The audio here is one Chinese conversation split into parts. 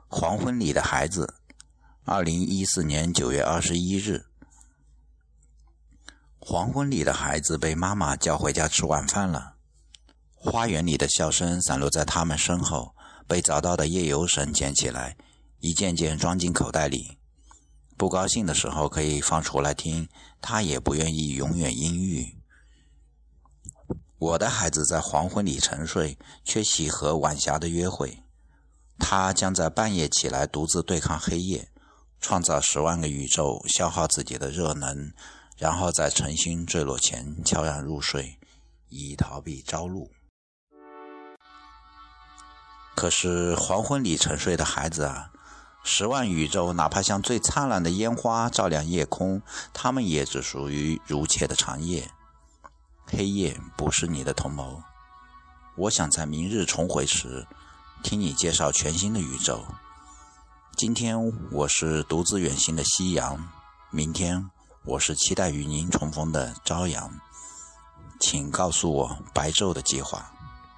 黄昏里的孩子2014年9月21日。黄昏里的孩子被妈妈叫回家吃晚饭了。花园里的笑声散落在他们身后，被找到的夜游神捡起来，一件件装进口袋里。不高兴的时候可以放出来听，他也不愿意永远阴郁。我的孩子在黄昏里沉睡，却喜和晚霞的约会。他将在半夜起来独自对抗黑夜，创造10万个宇宙，消耗自己的热能，然后在晨星坠落前悄然入睡，以逃避朝露。可是黄昏里沉睡的孩子啊，10万宇宙哪怕像最灿烂的烟花照亮夜空，它们也只属于如切的长夜。黑夜不是你的同谋。我想在明日重回时听你介绍全新的宇宙。今天我是独自远行的夕阳，明天我是期待与您重逢的朝阳。请告诉我白昼的计划。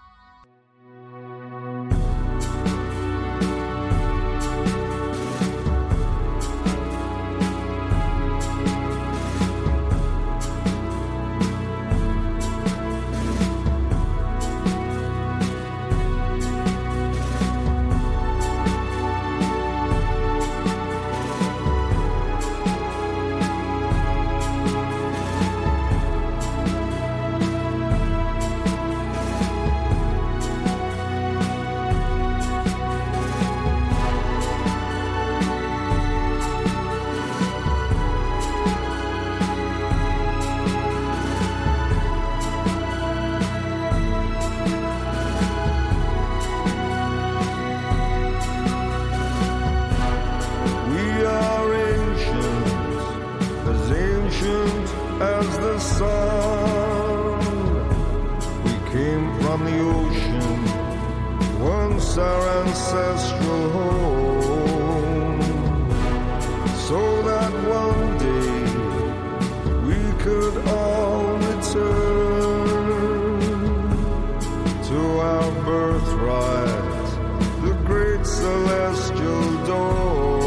As the sun, we came from the ocean, once our ancestral home, so that one day we could all return to our birthright, the great celestial dome.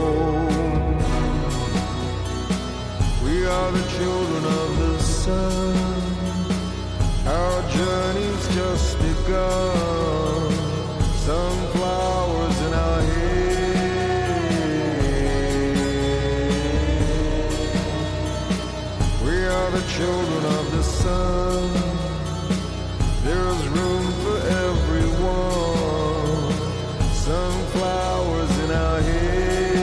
We are the children of the sun, our journey's just begun, sunflowers in our hair. We are the children of the sun, there's room for everyone, sunflowers in our hair.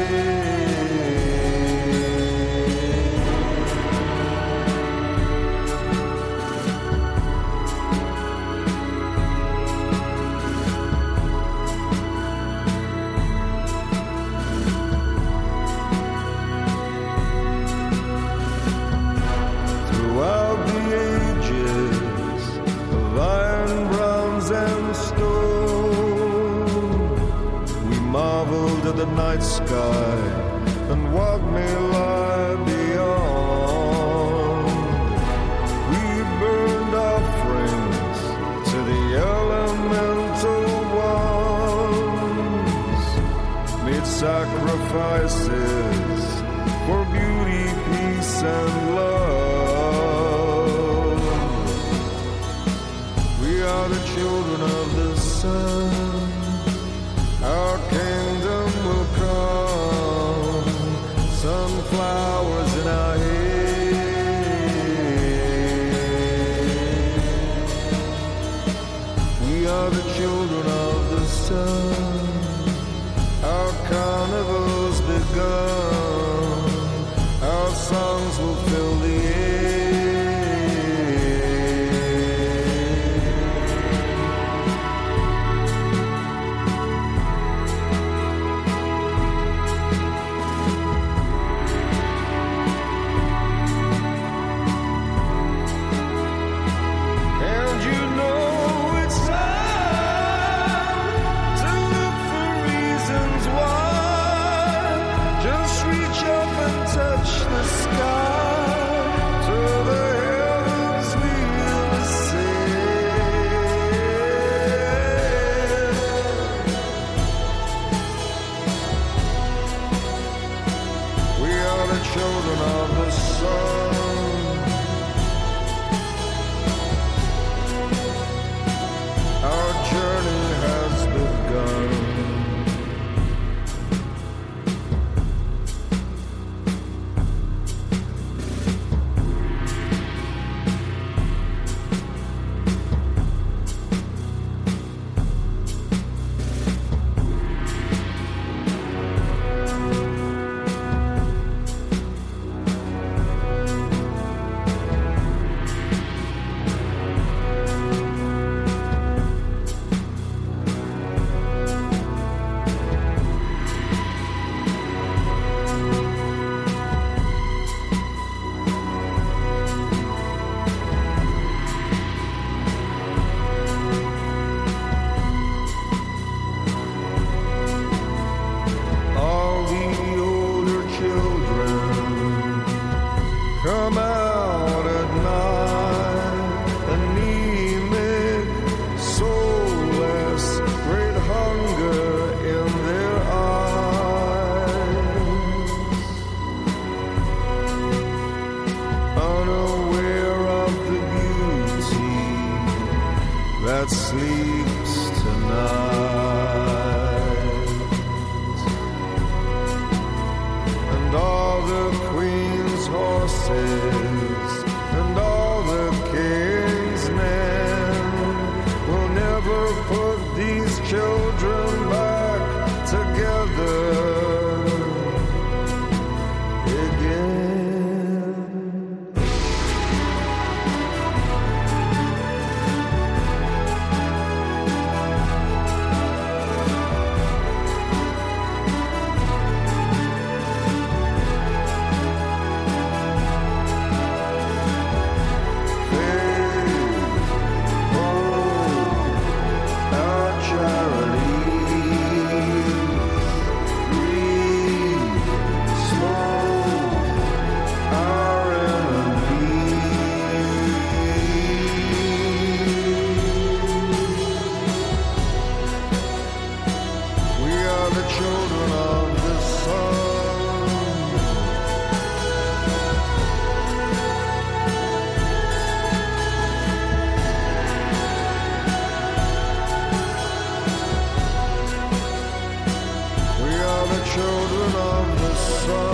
At the night sky and what may lie beyond. We burned offerings to the elemental ones, made sacrifices for beauty, peace, and love. We are the children of the sun, our kingdom will come, sunflowers in our hair. We are the children of the sun, our carnival's begun, our songs will fill the air. And you know it's time to the children of the sun. We are the children of the sun.